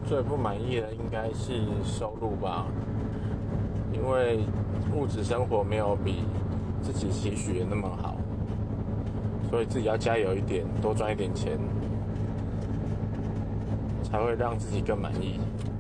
最不满意的应该是收入吧，因为物质生活没有比自己期许的那么好，所以自己要加油一点，多赚一点钱，才会让自己更满意。